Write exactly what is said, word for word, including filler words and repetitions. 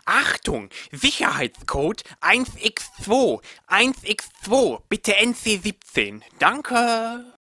Achtung, Sicherheitscode eins x zwei, eins x zwei, bitte N C siebzehn. Danke.